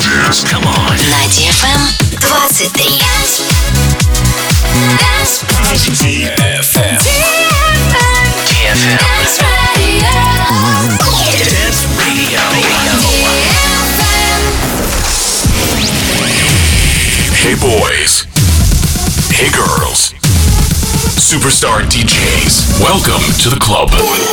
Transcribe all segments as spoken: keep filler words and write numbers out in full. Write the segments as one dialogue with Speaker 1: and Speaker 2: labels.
Speaker 1: dance. Come on.
Speaker 2: На ди эф эм двадцать три.
Speaker 1: ди эф эм. ди эф эм. Dance Radio. Hey boys. Hey girls. Superstar ди джейс. Welcome to the club.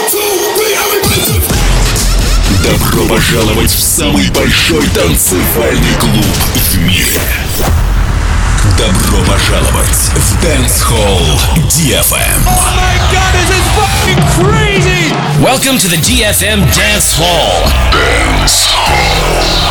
Speaker 3: Добро пожаловать в самый большой танцевальный клуб в мире. Добро пожаловать в Dance Hall ди эф эм.
Speaker 4: Oh my god, this is fucking crazy!
Speaker 5: Welcome to the ди эф эм Dance Hall.
Speaker 1: Dance Hall.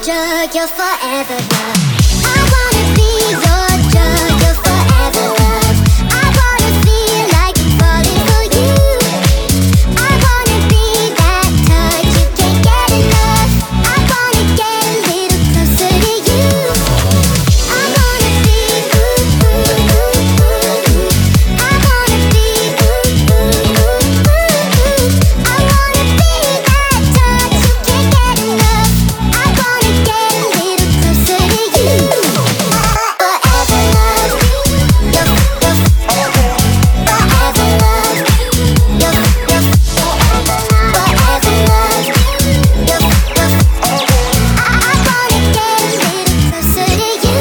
Speaker 6: drug, your forever love. I wanna be your drug, your forever love. I wanna feel like I'm falling for you. I wanna be that touch you can't get enough. I wanna get a little closer to you. I wanna be ooh, ooh, ooh, ooh. I wanna be ooh, ooh, ooh, ooh. I wanna be that touch you can't get enough. I wanna get a little closer to you. Forever love, your, your, forever love, your, your, forever love, your, your, I wanna get a little closer to you.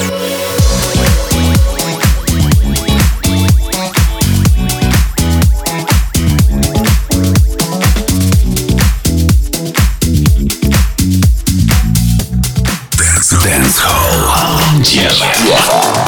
Speaker 3: Dance Hall.
Speaker 1: Yeah.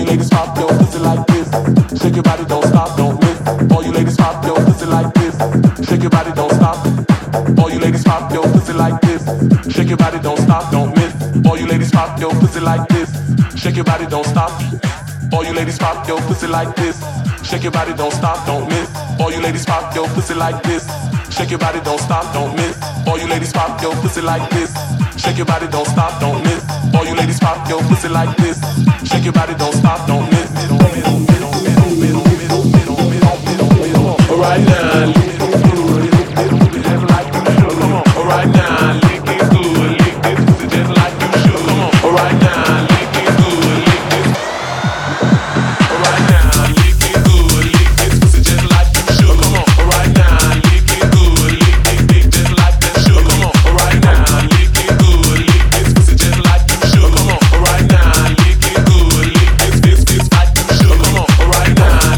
Speaker 7: you ladies pop your pussy like this. Shake your body, don't stop, don't miss. All you ladies pop your pussy like this. Shake your body, don't stop. All you ladies pop your pussy like this. Shake your body, don't stop, don't miss. All you ladies pop your pussy like this. Shake your body, don't stop. All you ladies pop your pussy like this. Shake your body, don't stop, don't miss. All you ladies pop your pussy like this. Shake your body, don't stop, don't miss. All you ladies pop your pussy like this. Shake your body, don't stop, don't miss. All you ladies pop your pussy like this. Shake your body, don't stop, don't miss. Right now, lick it good, just like you should. Right now, lick it good, lick this pussy just like you should. Right now, lick it good, lick this. Right now, lick it good, lick this pussy just like you should. Right now, lick it good, lick this dick just like that should. Right now, lick it good, lick this pussy just like you should. Right now, lick it good, lick this this this like you should. Right now.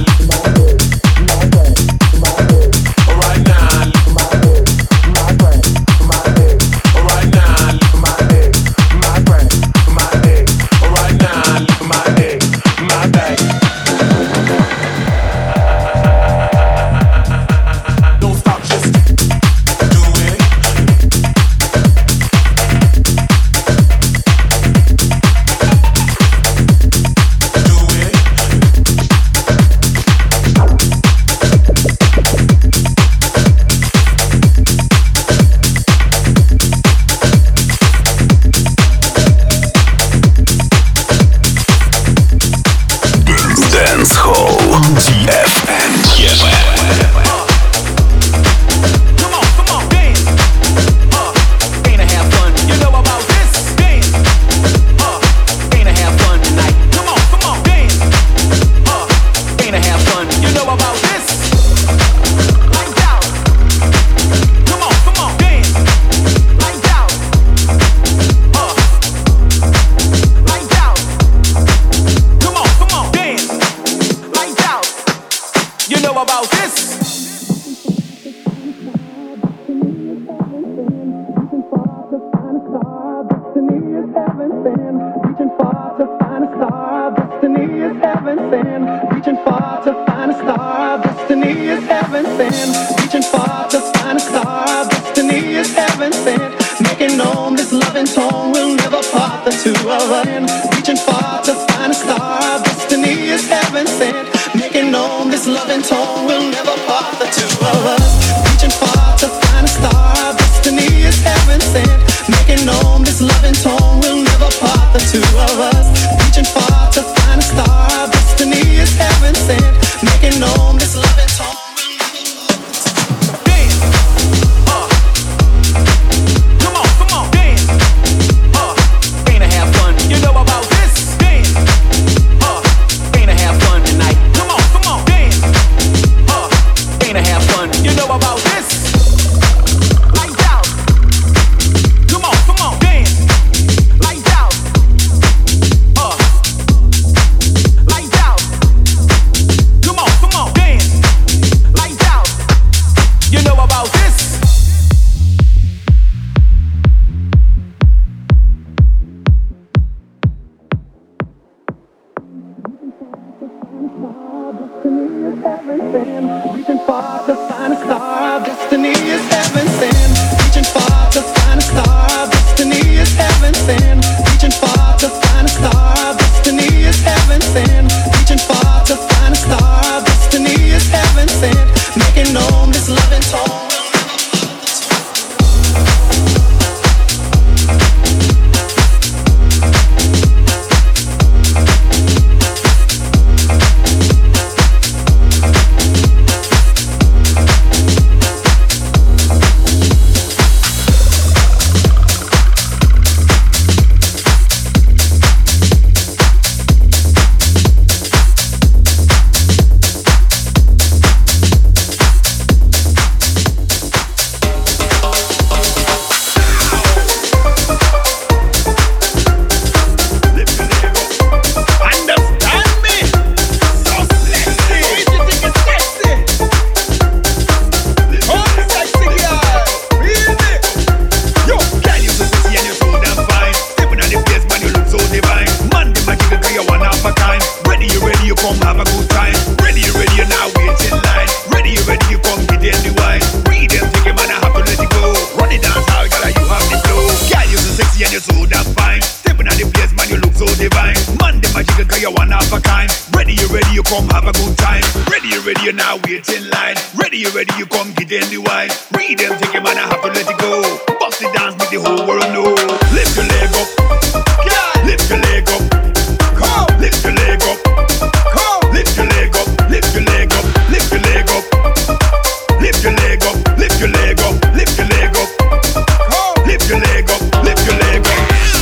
Speaker 8: come have a good time. Ready, you ready, you now wait in line. Ready, you ready, you come get in the wine. Read them, take it, man, I have to let it go. Run it dance hall, girl, you have the flow. Girl, you so sexy and you so damn fine. Stepping on the place, man, you look so divine. Man, the magic, cause you one half a kind. Ready, you ready, you come have a good time. Ready, you ready, you now wait in line. Ready, you ready, you come get in the wine. Read them, take it, man, I have to let it go. Bust the dance, make the whole world know. Lift your leg up, girl, lift your leg up. Come, lift your leg up. Come, lift your leg up, lift your leg up, lift your leg up. Lift your leg up, lift your leg up, lift your leg up. Come, lift your leg up, lift your leg up.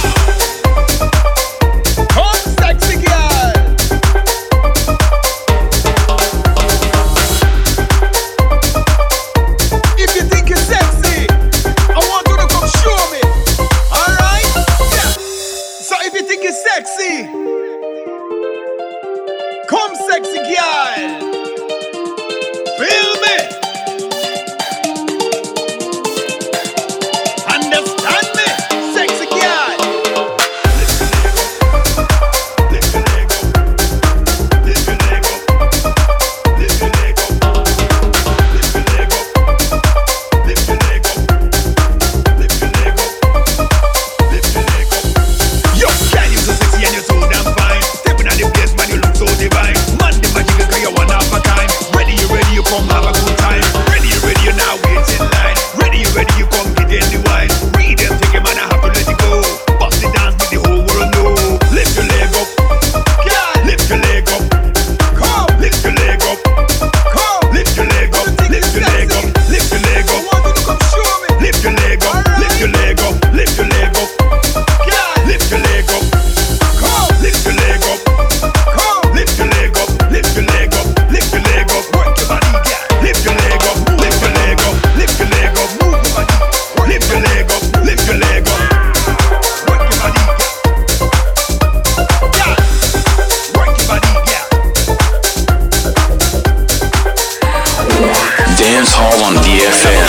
Speaker 8: Come, sexy girl. If you think you're sexy, I want you to come show me. Alright? Yeah. So if you think you're sexy, come sexy girl. Feel me? Understand me? Sexy girl. Lift your leg up. Lift your leg up. Lift your leg up. Lift your leg up. Lift your leg up. Lift your leg up. Lift your leg up. Lift your leg up. Yo, girl, you so sexy and you so damn fine. Stepping on the place, man, you look so divine. Man, the magic cause you one half a kind. Ready, you ready, you come have a good time. Ready, you ready, you now wait in line. Ready, you ready, you come get in the wine. Read them, take it, man, I have to let it go. Bust the dance, make the whole world know. Lift your leg up, girl, lift your leg up. Come, lift your leg up. Come, lift your leg up, lift your leg up, lift your leg up. I want you to come show me. Lift your leg up, lift your leg up, lift your leg up. Girl, lift your leg up. Come, lift your leg up. Come, lift your leg up, lift your leg up, lift your leg up. Work your body, girl. Lift your leg up, lift your leg up, lift your leg up. Move your body. Lift your leg up, lift your leg up. Work your body, girl. Girl, work your body, girl.
Speaker 1: Dance Hall on D F M.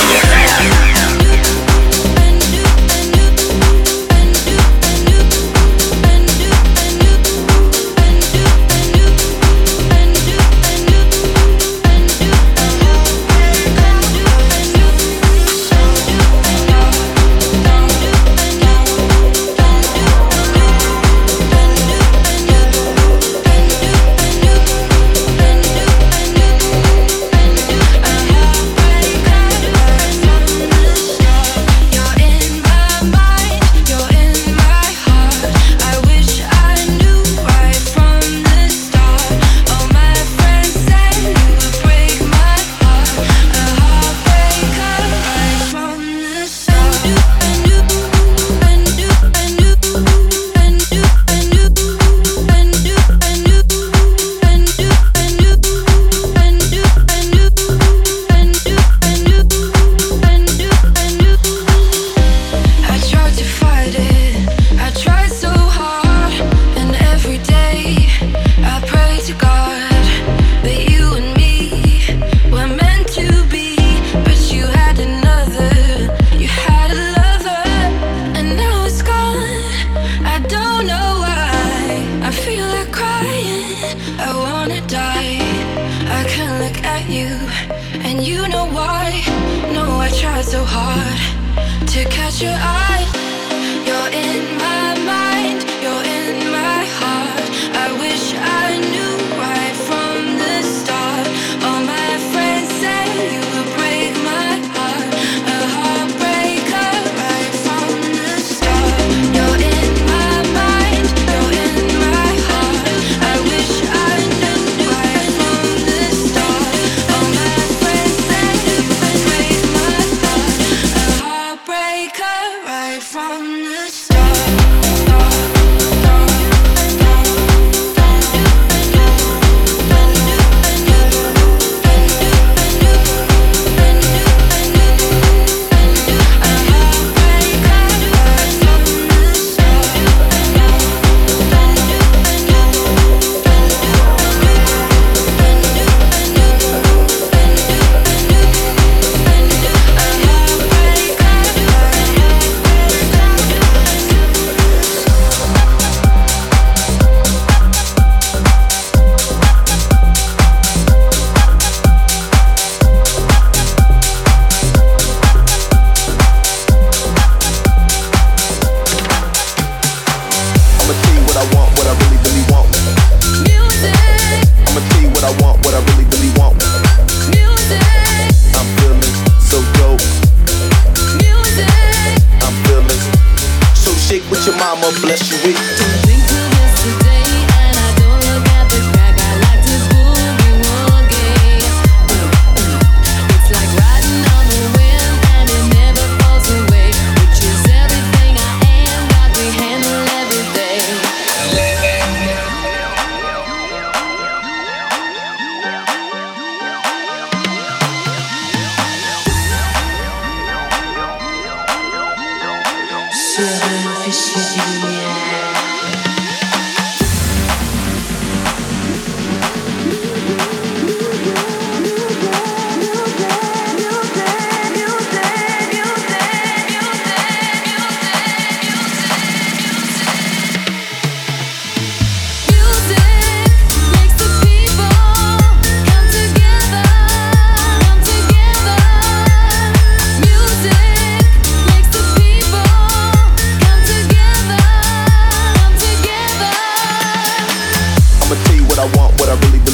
Speaker 9: Right from the start.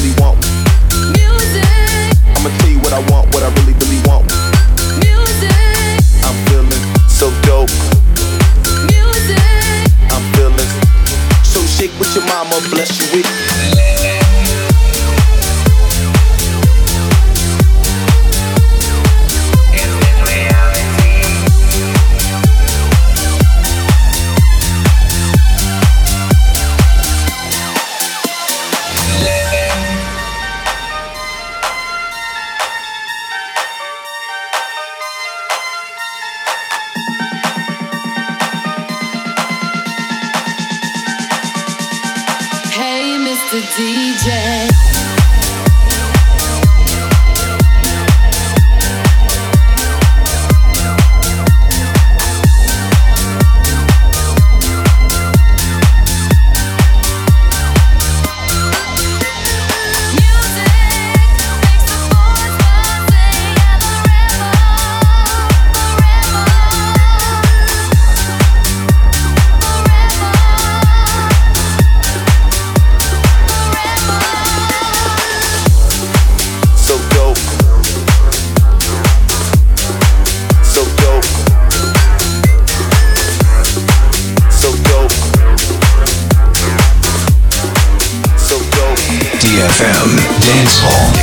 Speaker 9: really want. Music. I'ma tell you what I want, what I really, really want. Music. I'm feeling so dope. Music. I'm feeling so shake what your mama bless you with.
Speaker 10: The D J.
Speaker 3: D F M Dance Hall.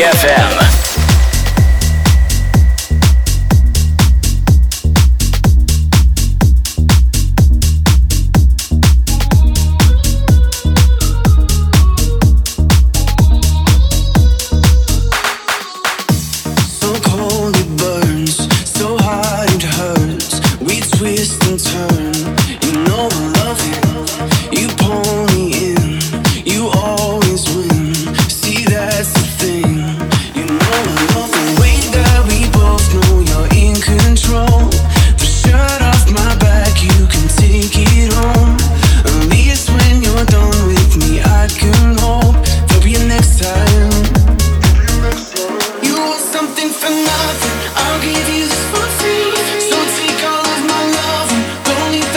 Speaker 5: эф эм.
Speaker 10: I'll give you this for free. So take all of my love and don't need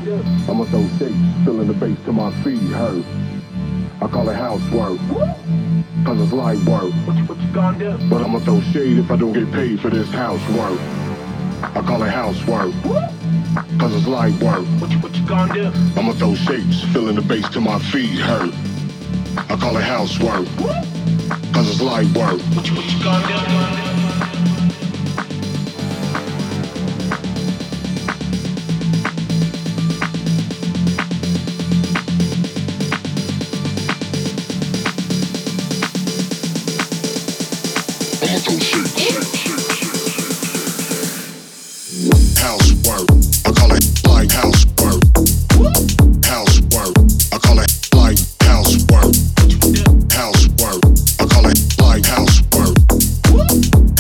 Speaker 10: I'ma throw shapes, filling the bass till my feet hurt. I call it housework, cause it's light work. What you, what you gonna do? But I'ma throw shade if I don't get paid for this housework. I call it housework, cause it's light work. What you, what you gonna do? I'ma throw shapes, filling the bass till my feet hurt. I call it housework, cause it's light work. What you, what you gonna do?
Speaker 11: Housework, I call it light housework. Housework, I call it light housework. Housework, I call it light housework.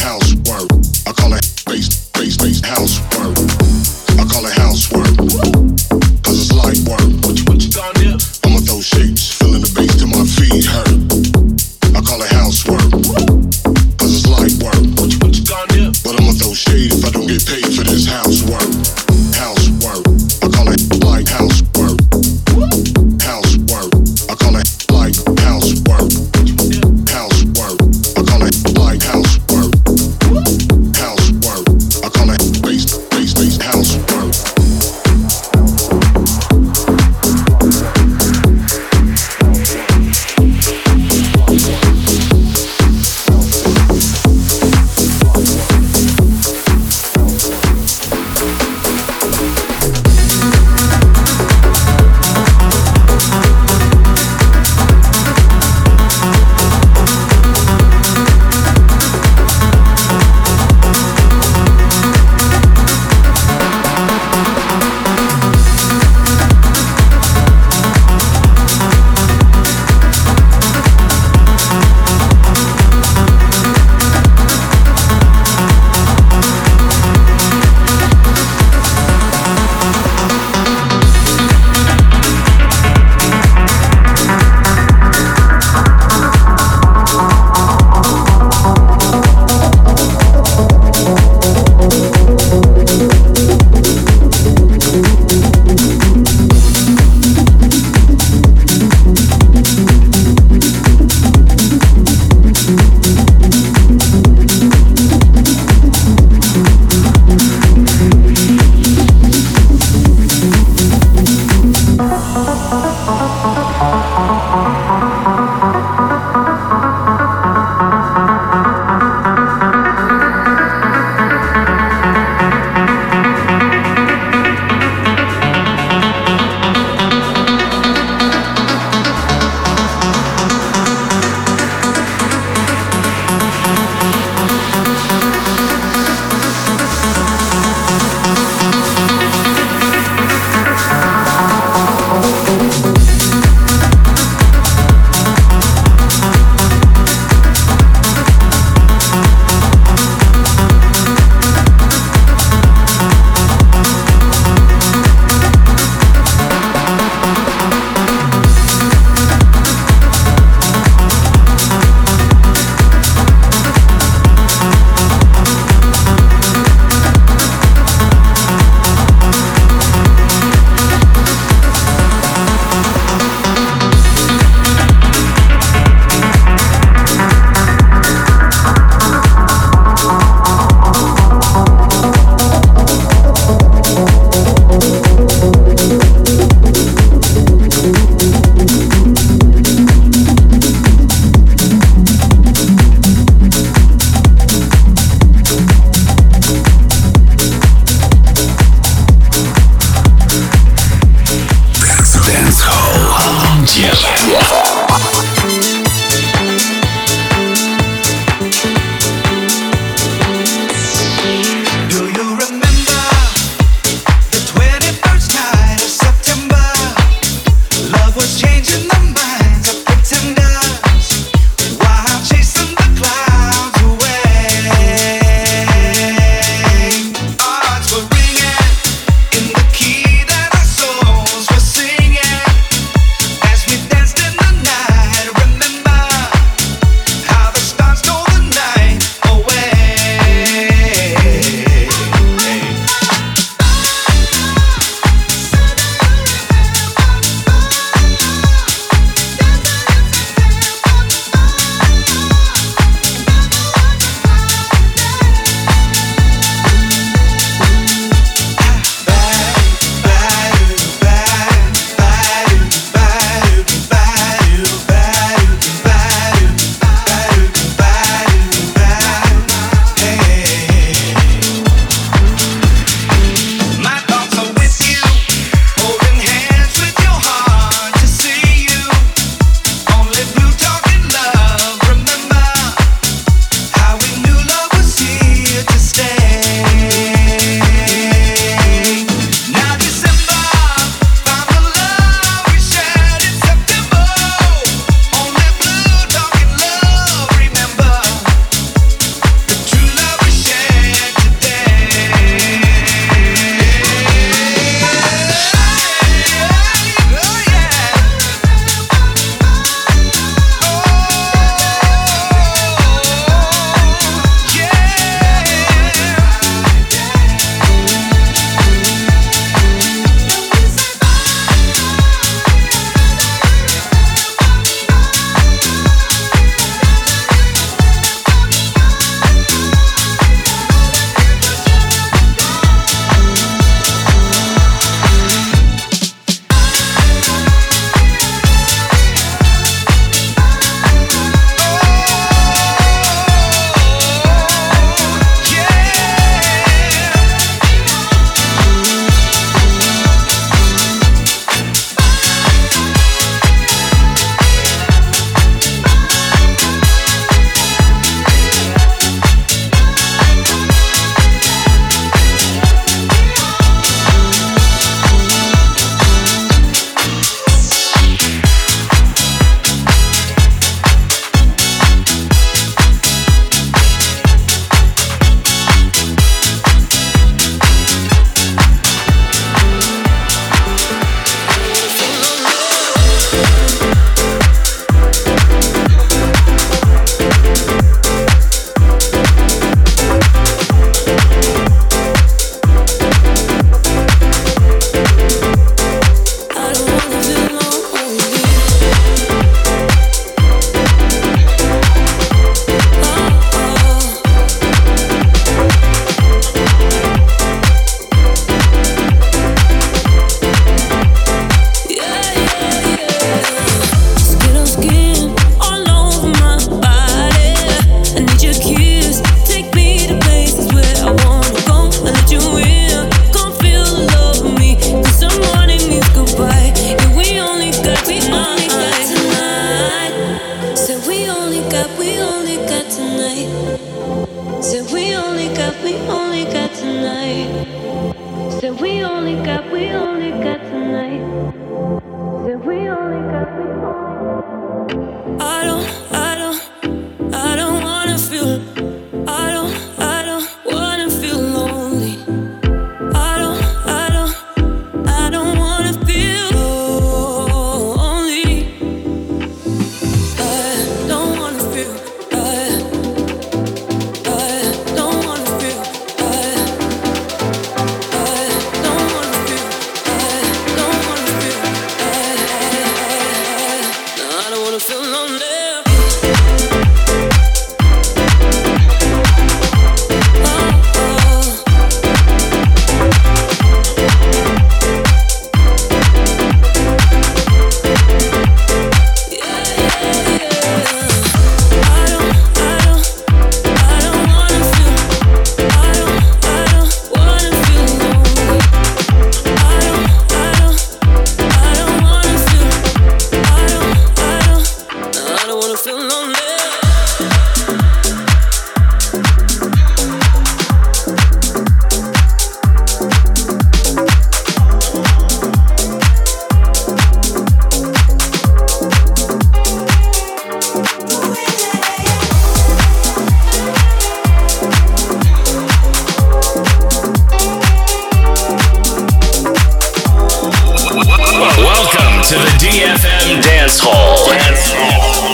Speaker 5: to the D F M Dance Hall. Dance Hall.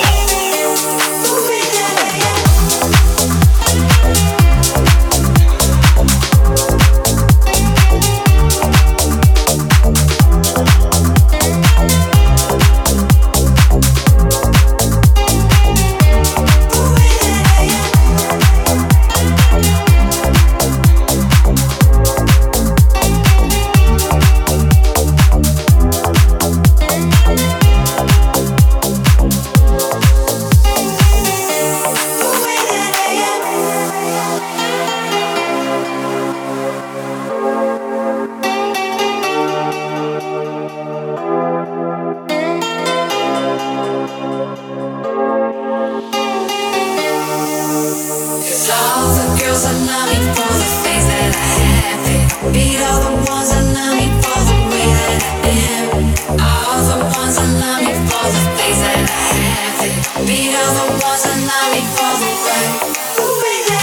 Speaker 6: Beat all the ones that love me for the way.